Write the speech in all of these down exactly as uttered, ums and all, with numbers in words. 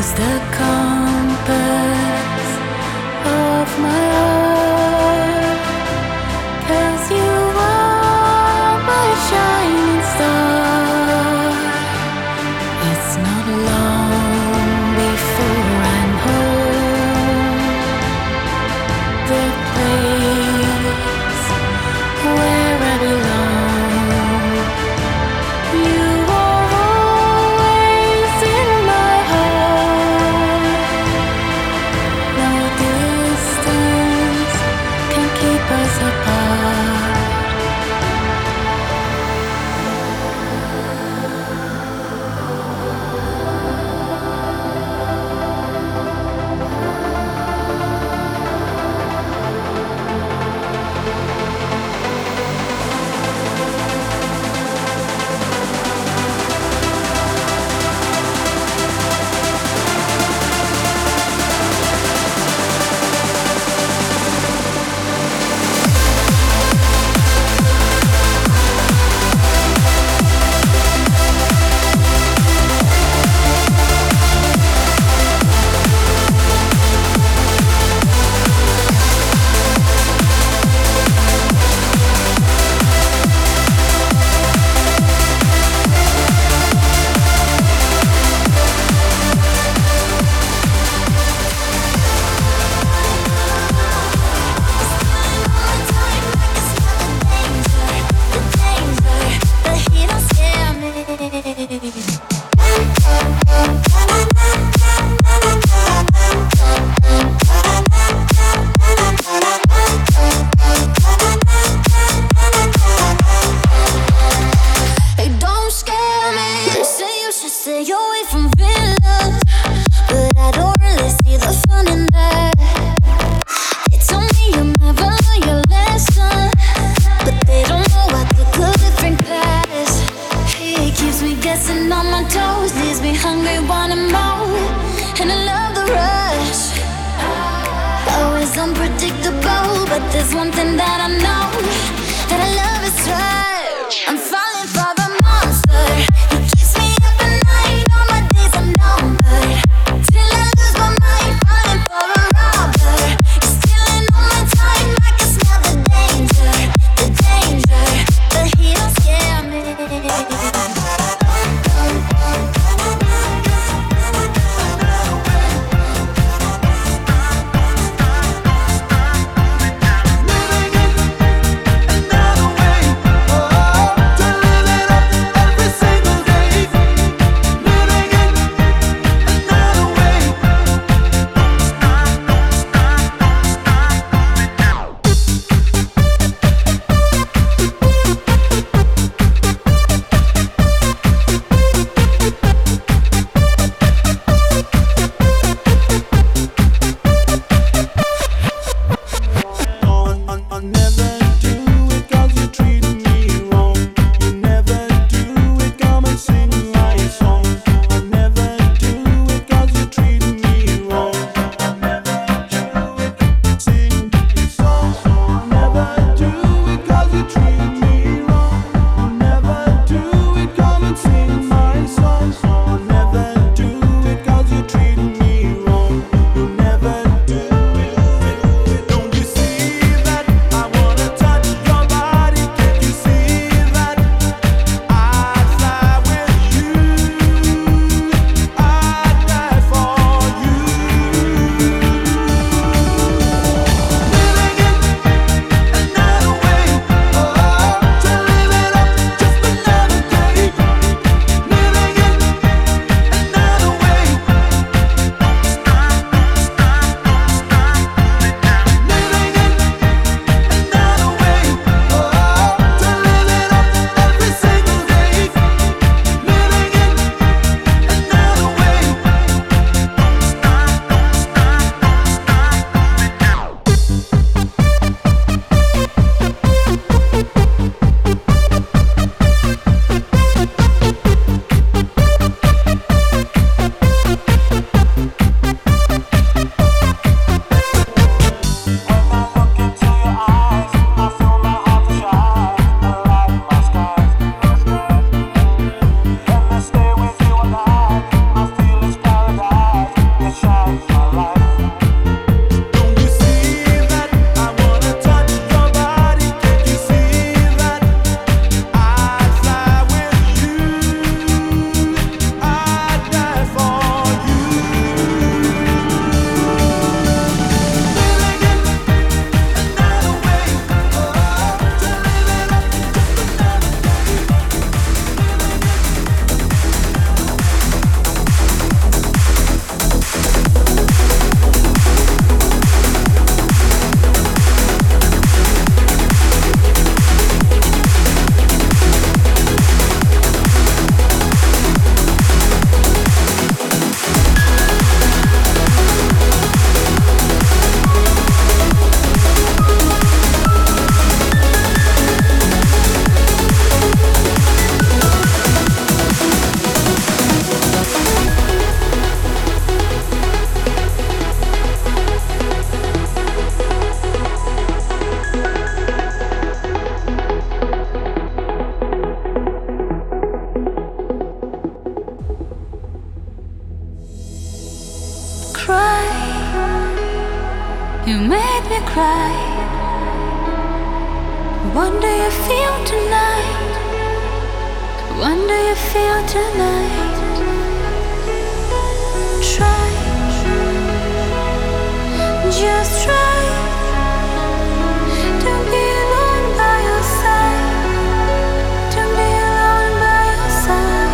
the compass of my heart, 'cause you are my shining star. It's not long before I'm home, the place where I belong. You are always in my heart. No distance can keep us apart. Hey, don't scare me. They say you should stay away from villains, but I don't really see the fun in that. They told me you'll never learn your lesson, but they don't know what the good different past. He keeps me guessing on my toes, leaves me hungry, wanting more, and I love the rush. Always unpredictable, but there's one thing that I know, that I love is right. I'm falling for the monster. He keeps me up at night, all my days are numbered, till I lose my mind, falling for a robber. He's stealing all my time, I can smell the danger, the danger, but he don't scare me. cry. You made me cry. What do you feel tonight? What do you feel tonight? Try, just try to be alone by your side. To be alone by your side.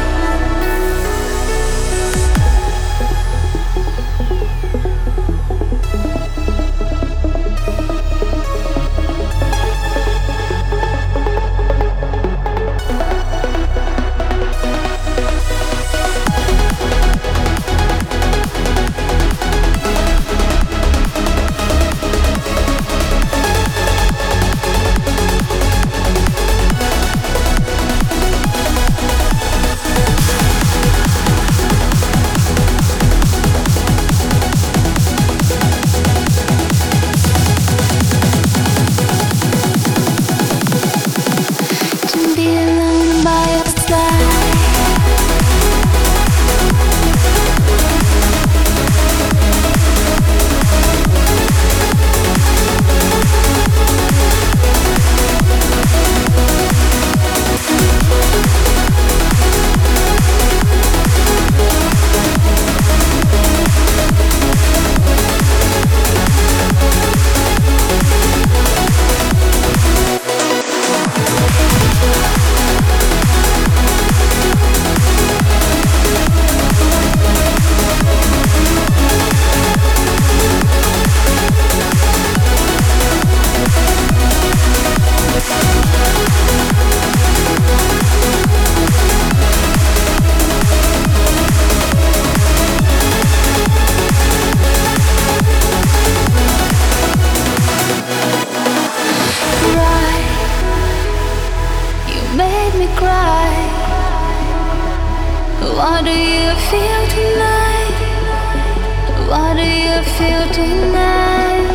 What do you feel tonight? What do you feel tonight?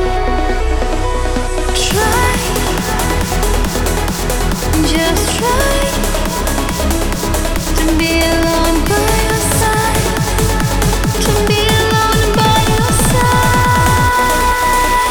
Try, just try to be alone by your side. To be alone by your side.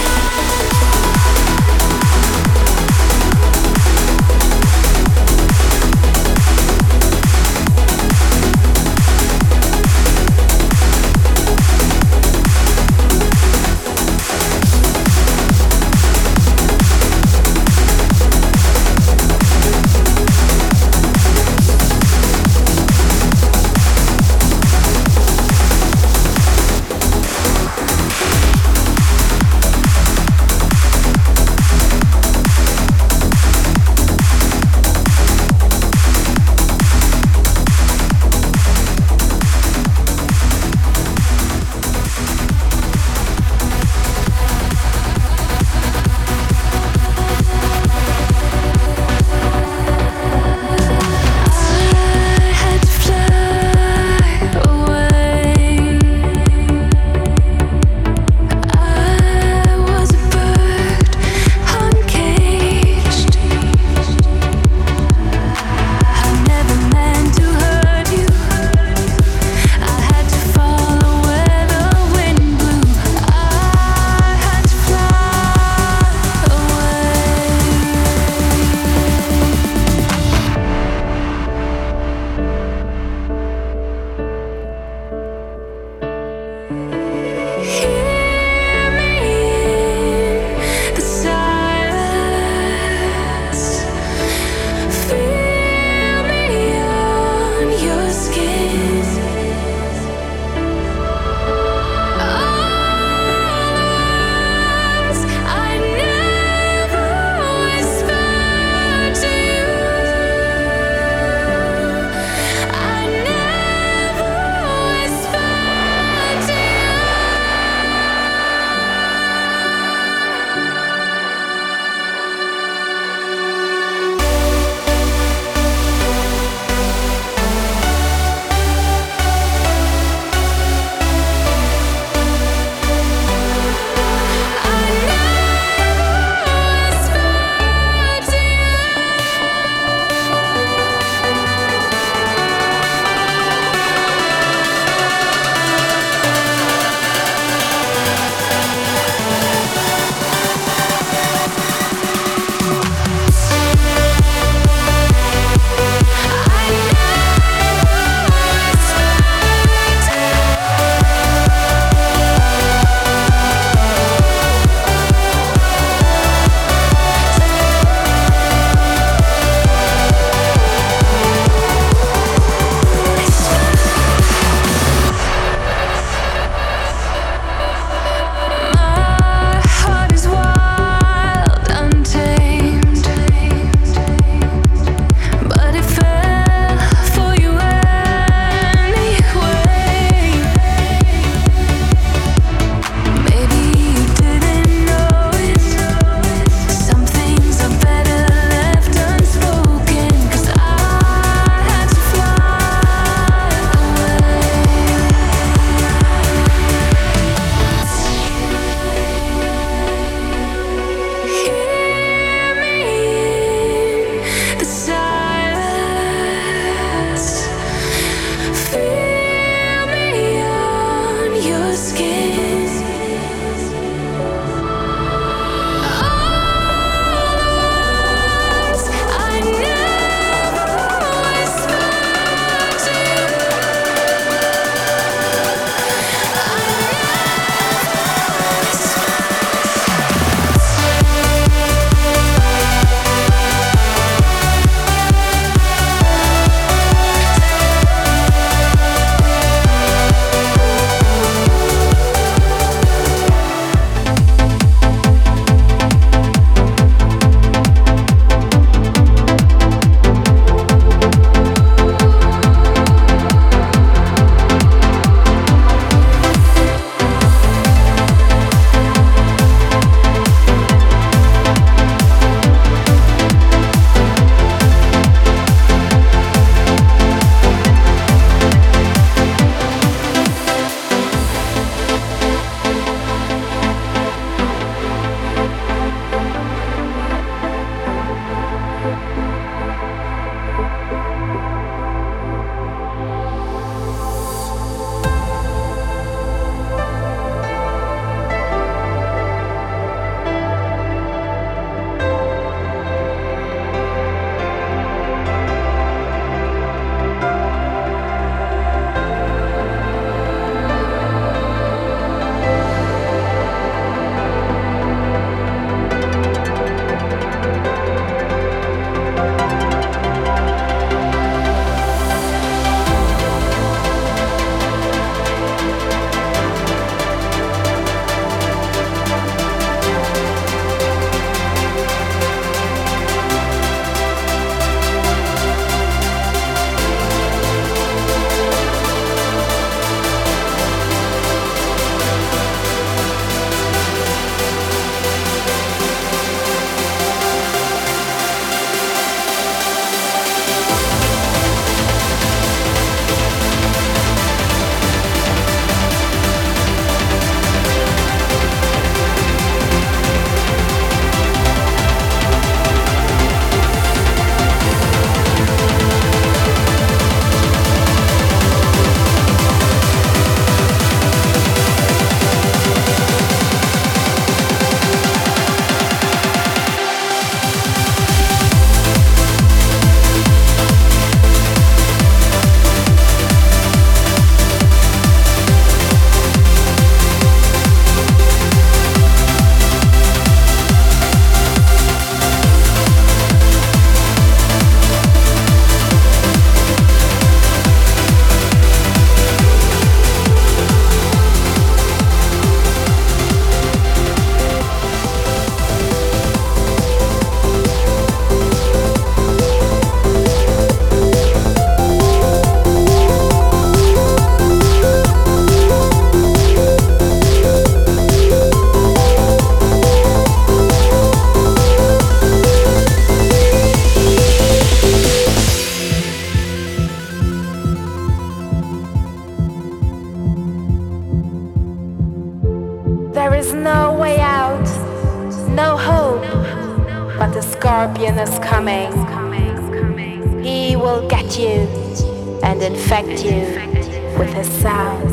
There is no way out, no hope, but the scorpion is coming. He will get you and infect you with his sound.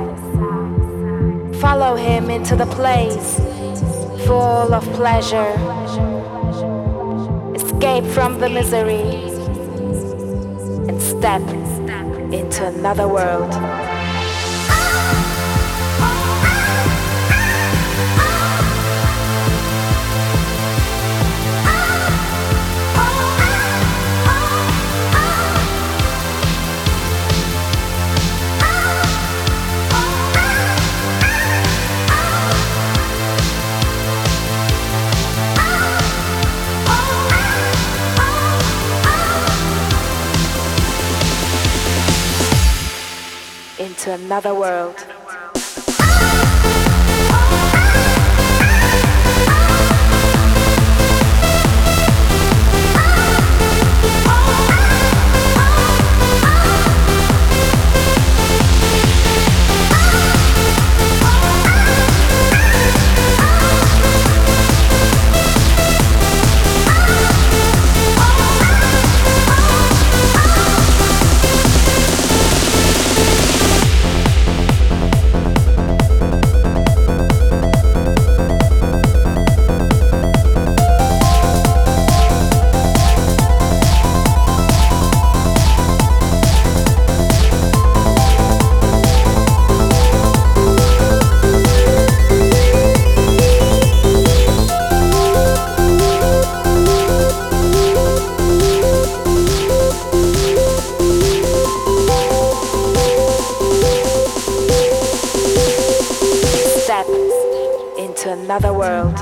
Follow him into the place full of pleasure. Escape from the misery and step into another world. Into another world. Another world.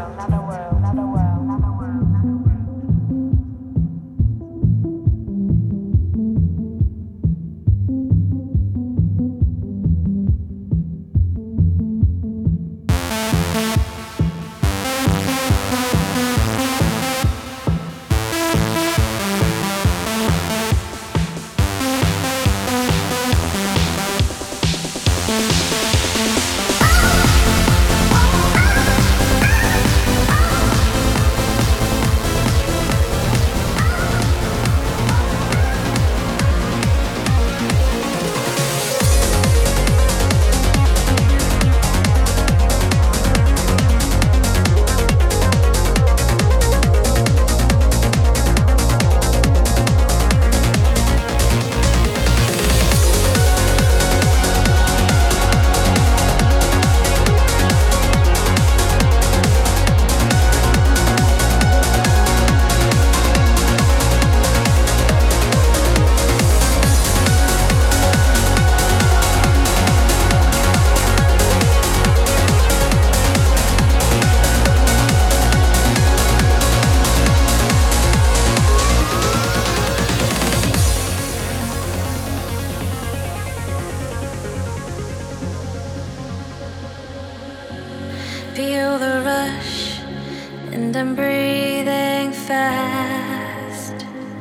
Feel the rush, and I'm breathing fast.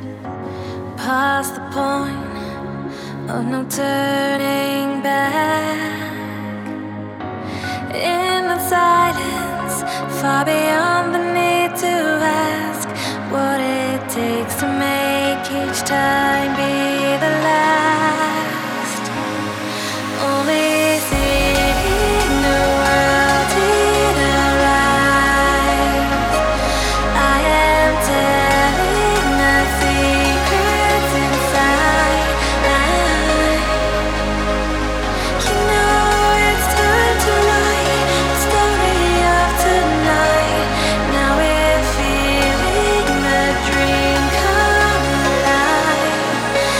Past the point of no turning back. In the silence, far beyond the need to ask what it takes to make each time be the last. Only seeing the world in our eyes. I am telling the secrets inside. You know it's time to write the story of tonight. Now we're feeling the dream come alive.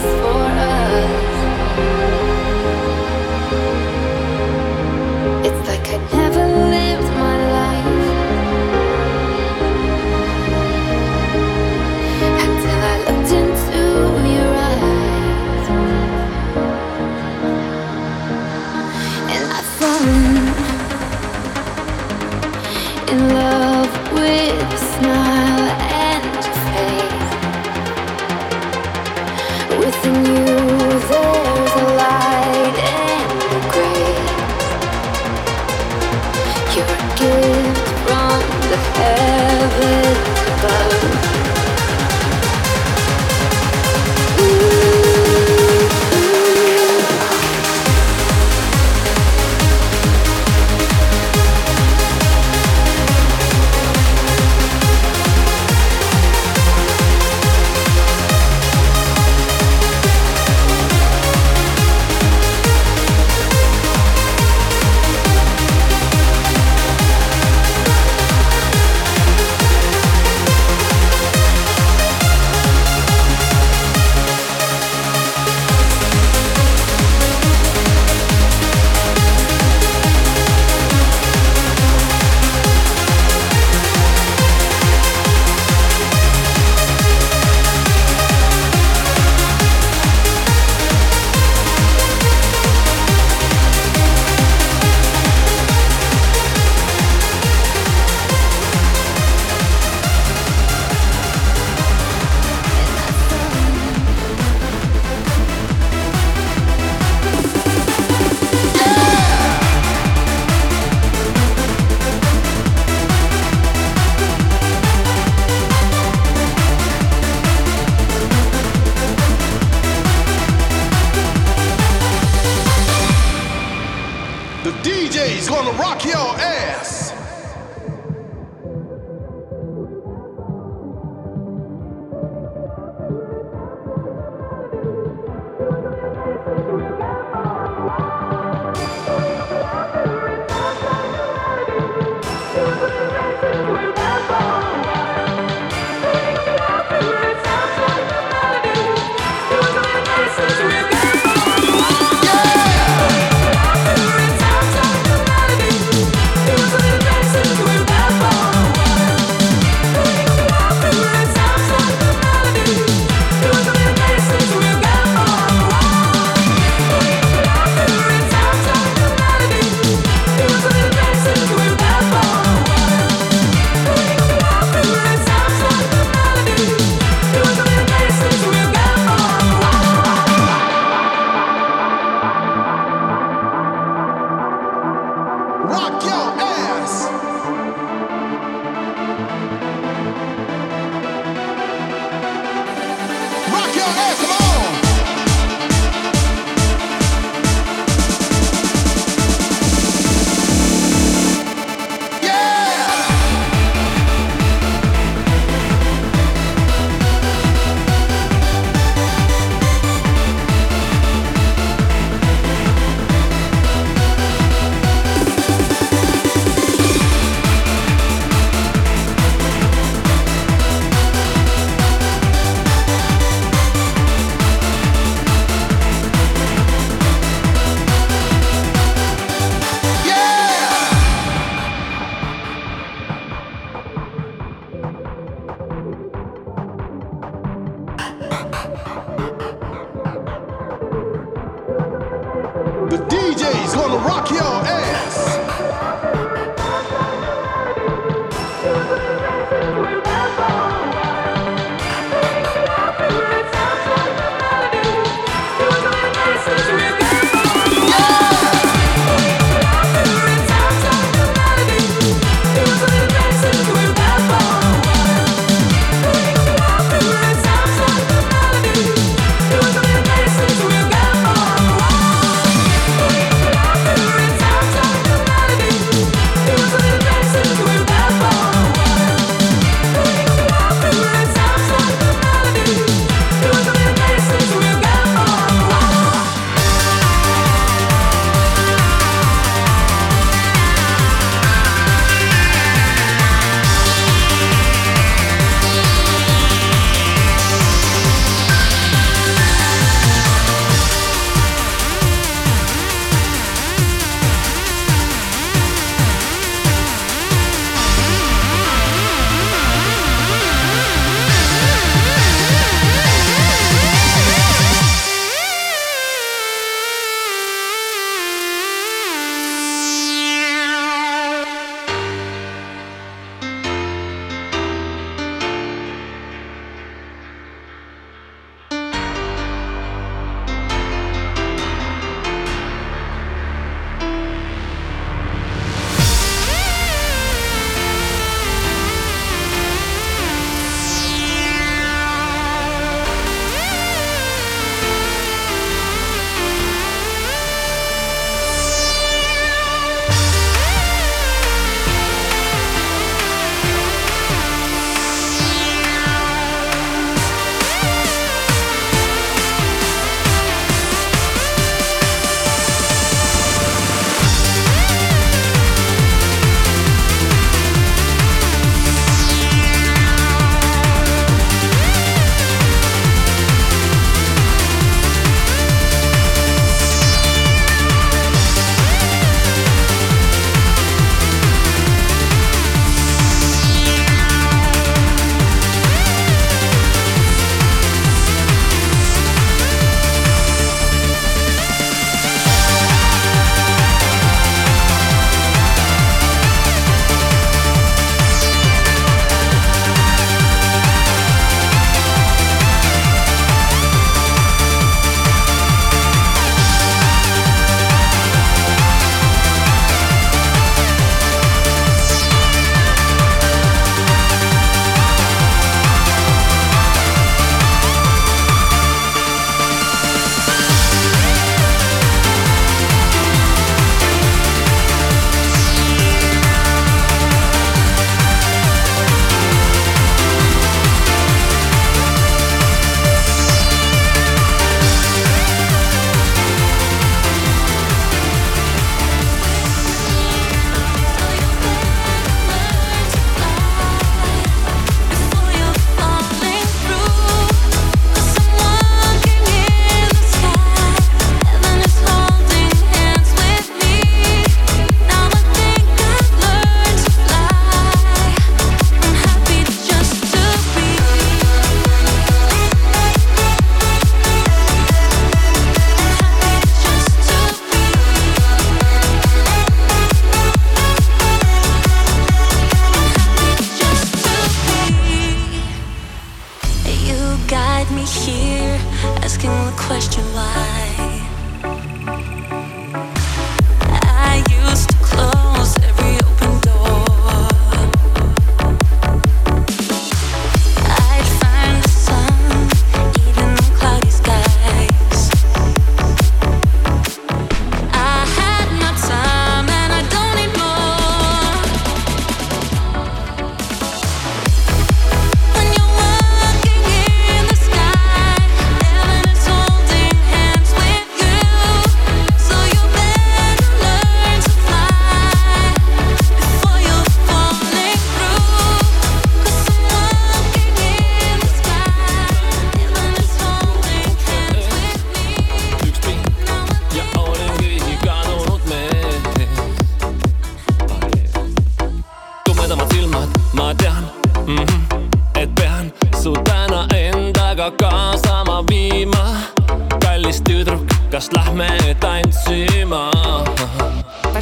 for us. It's like I never lived my life until I looked into your eyes, and I've fallen in love with your smile and your face. Within you there's a light and a grace. You're a gift from the heavens above. Yeah.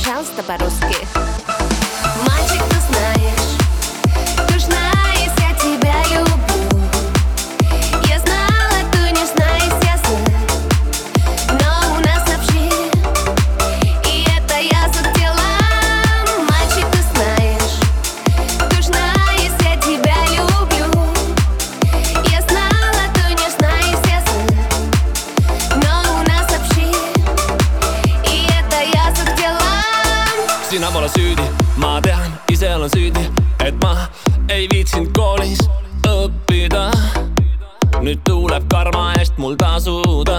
пожалуйста, по-русски. Мальчик, ты знаешь, ты ж знаешь, я тебя люблю. Я знала, ты не знаешь, я знаю, но у нас общее, и это я захотела. Мальчик, ты знаешь, ты ж знаешь, я тебя люблю. Я знала, ты не знаешь, я знаю, но у нас общее, и это я захотела. Sina pole süüdi, ma tean, ise olen süüdi, et ma ei viitsinud koolis õppida. Nüüd tuleb karma eest mul tasuda.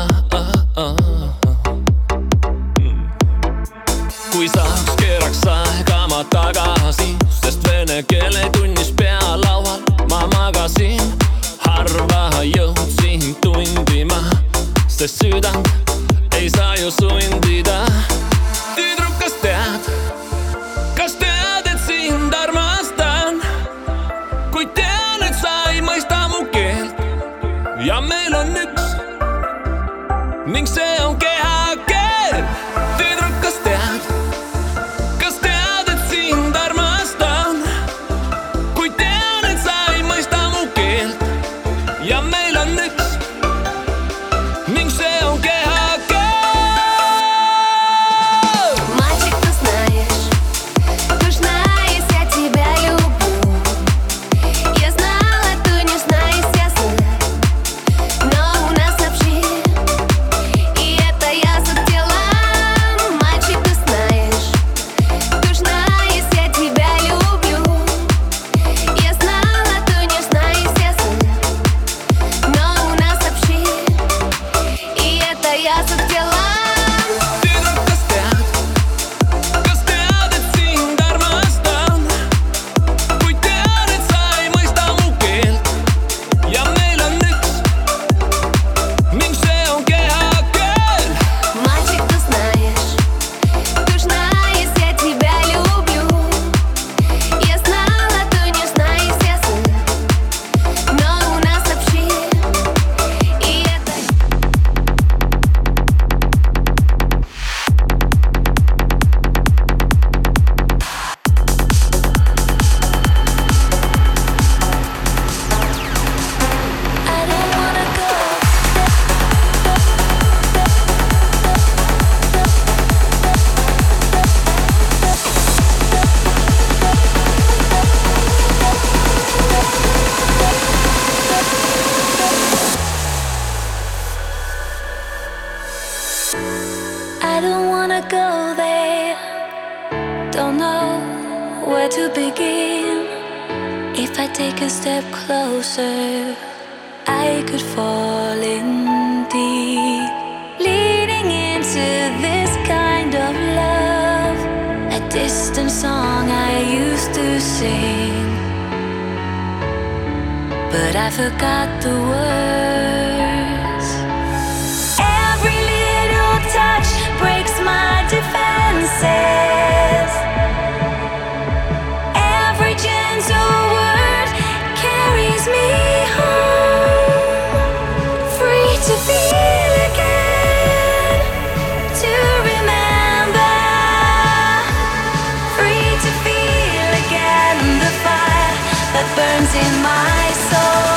Kui saaks, keeraks aega ma tagasi, sest vene keele tunnis pealaual ma magasin. Harva jõudsin tundima, sest südant ei saa ju sundida. Tüdruk, kas tead? Kas tead, et sind armastan? Kui tean, et sa ei mõista mu keelt ja meil on üks ning see on kehakeel. Tüdruk, kas tead? Kas tead, et sind armastan? Kui tean, et sa ei mõista mu keelt ja meil on üks ning see on kehakeel. Мальчик, ты знаешь, ты ж знаешь, я тебя люблю. Я знала, ты не знаешь, я знаю, но у нас общее, и это я захотела. Мальчик, ты знаешь, ты ж знаешь, я тебя люблю. Я знала, ты не знаешь, я знаю, но у нас общее, и это я захотела. Tüdruk, kas tead? Kas tead, et sind armastan? Kui tean, et sa ei mõista mu keelt ja meil on üks ning see on kehakeel. Мальчик, ты знаешь, ты ж знаешь, я тебя люблю. Я знала, ты не знаешь, я знаю, но у нас общее, и это... I don't wanna go. I don't wanna go there. Don't know where to begin. If I take a step closer, I could fall in deep. Leading into this kind of love, a distant song I used to sing, but I forgot the words. Every little touch breaks my defenses. Every gentle word carries me home. Free to feel again, to remember. Free to feel again the fire that burns in my soul.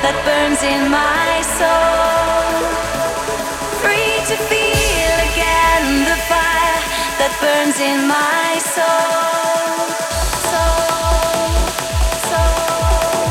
that burns in my soul. Free to feel again the fire that burns in my soul. Soul, soul,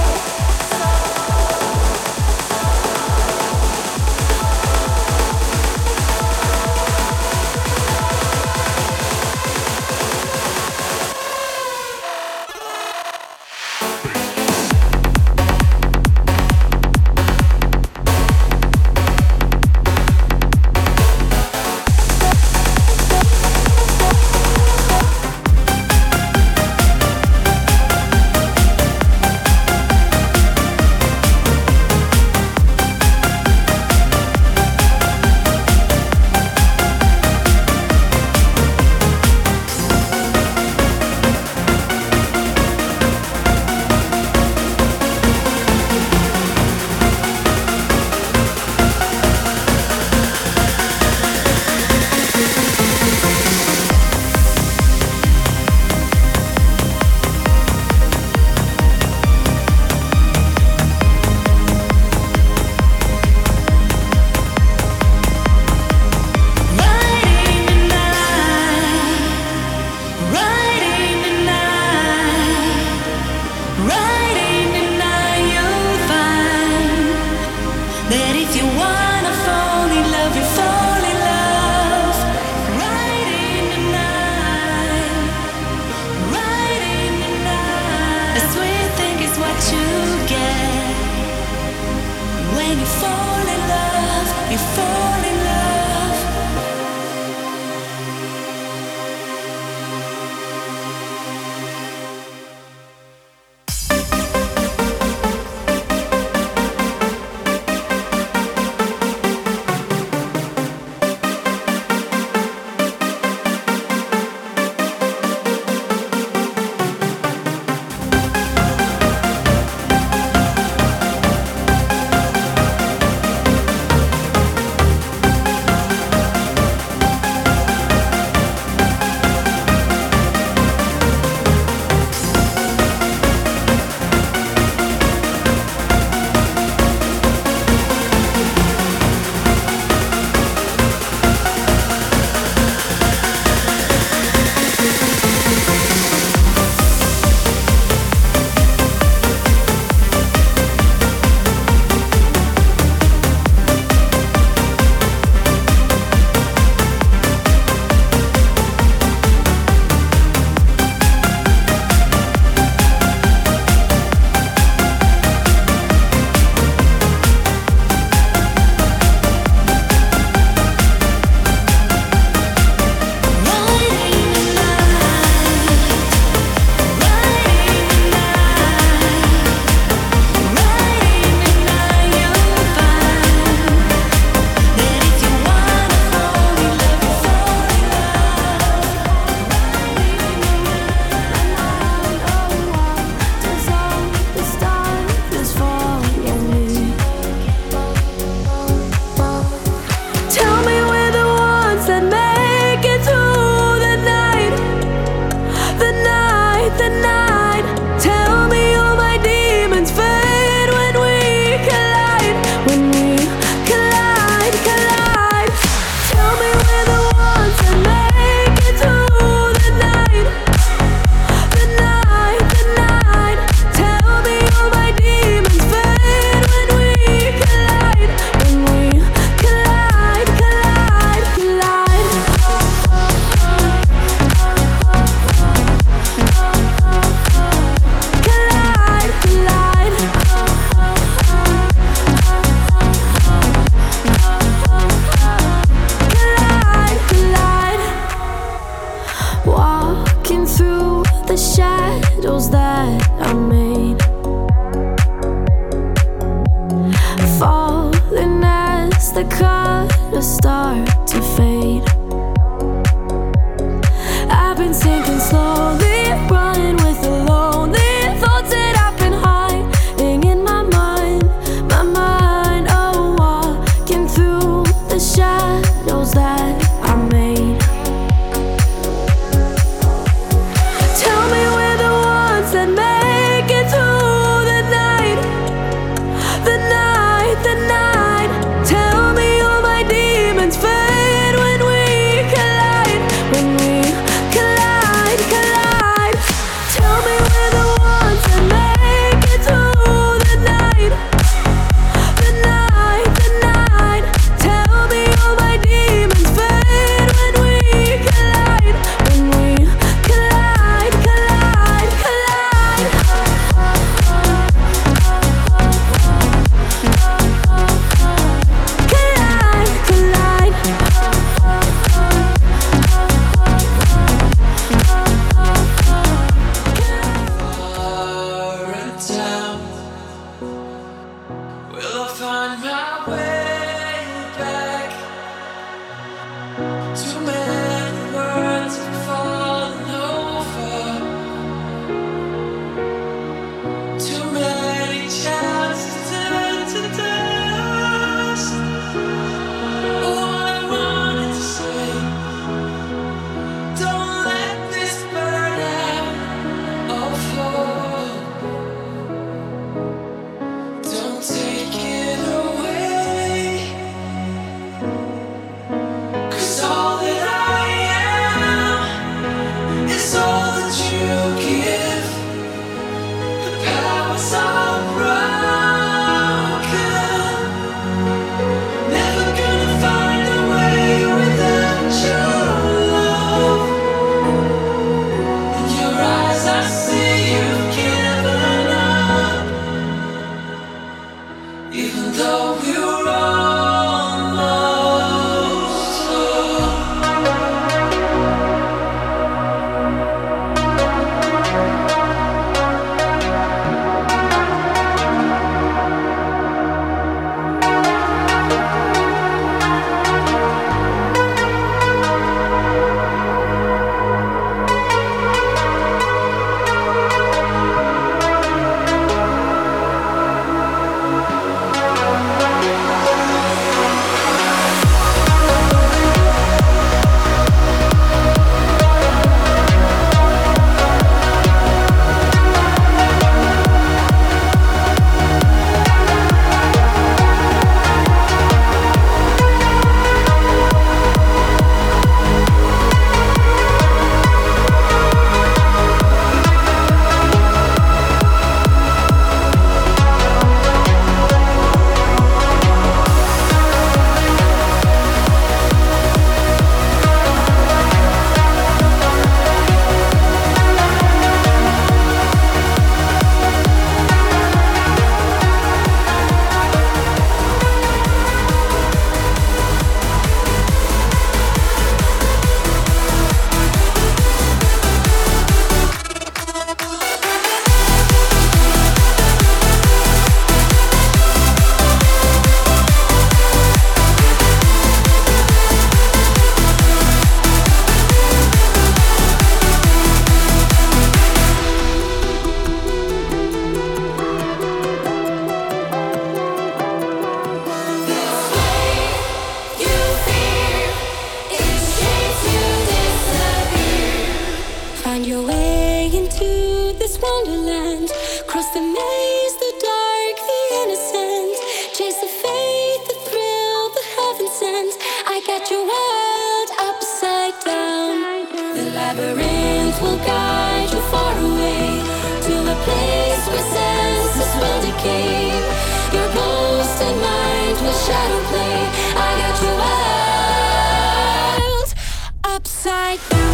the colors start to fade. I've been sinking slowly, running with the lonely thoughts that I've been hiding in my mind, my mind. Oh, walking through the shadows that I made. Tell me we're the ones that make it through the night, the night. even though we're almost home. Find your way into this wonderland. Cross the maze, the dark, the innocent. Chase the faith, the thrill, the heaven sent. I got your world upside down. The labyrinth will guide you far away to a place where senses will decay. Your ghost and mind will shadow play. I got your world upside down.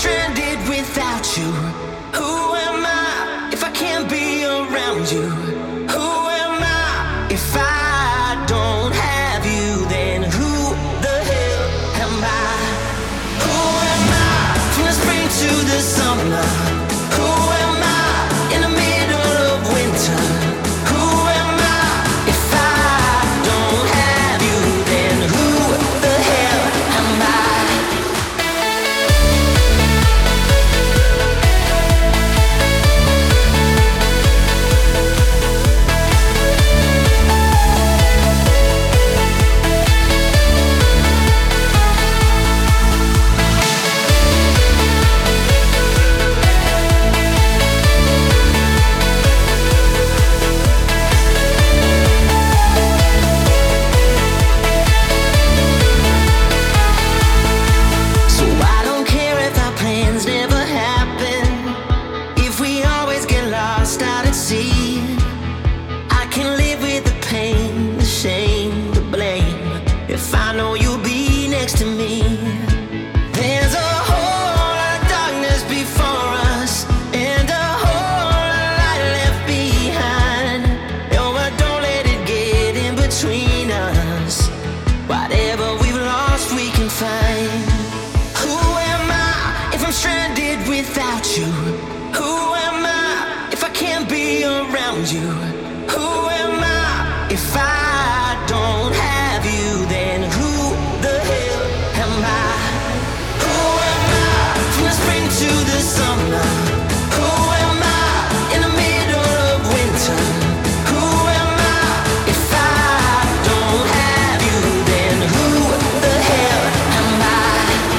stranded without you? Who am I if I can't be around you? Who am I if I don't have you? Then who the hell am I? Who am I from the spring to the summer? Who am I in the middle of winter? Who am I if I don't have you? Then who the hell am I? So I don't care if our plans never happen, if we always get lost out at sea. I can live with the pain, the shame, the blame, if I know you'll be next to me. There's a whole lot of darkness before us, and a whole lot of light left behind. Oh, but don't let it get in between us. Whatever we've lost, we can find. Who am I if I'm stranded without you? Who am I if I can't be around you? Who am I if I don't have you? Then who the hell am I? Who am I from the spring to the summer? Who am I in the middle of winter? Who am I if I don't have you? Then who the hell am I?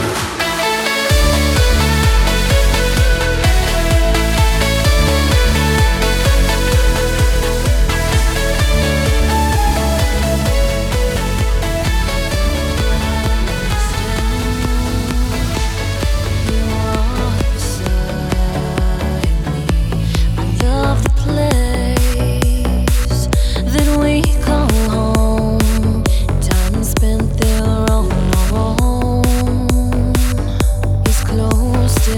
I love the place that we call home. Time spent there on our own is close to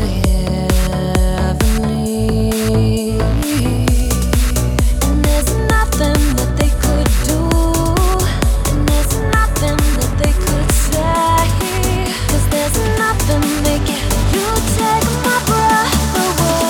heavenly. And there's nothing that they could do, and there's nothing that they could say, 'cause there's nothing they can. You take my breath away.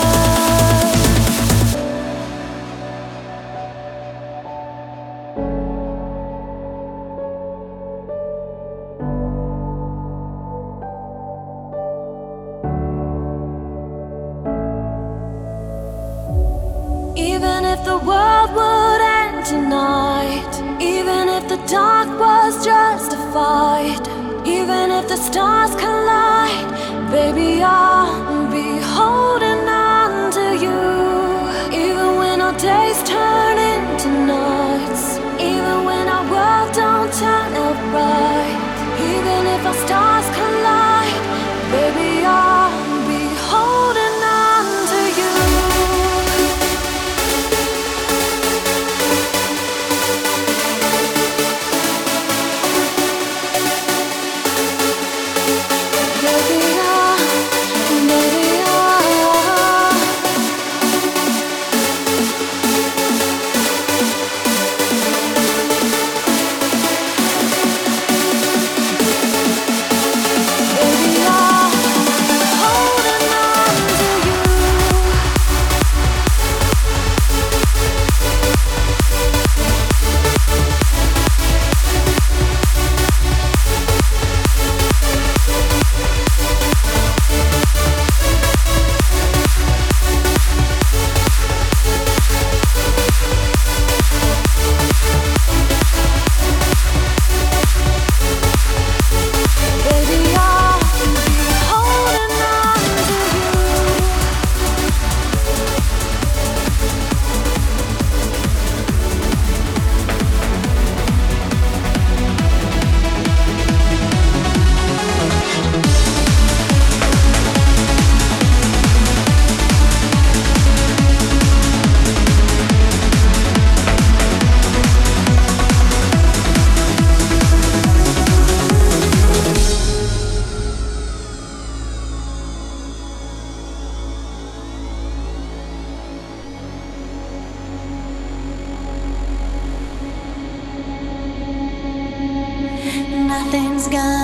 Even if the world would end tonight, even if the dark was justified, even if the stars collide, baby, I'll be holding on to you. Even when our days turn into nights, even when our world don't turn out right, even if our stars collide, baby, I'll be holding on to you. Baby, I, baby, I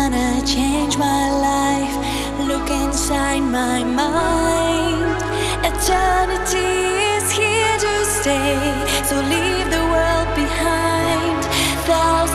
gonna change my life. Look inside my mind. Eternity is here to stay, so leave the world behind. Thousands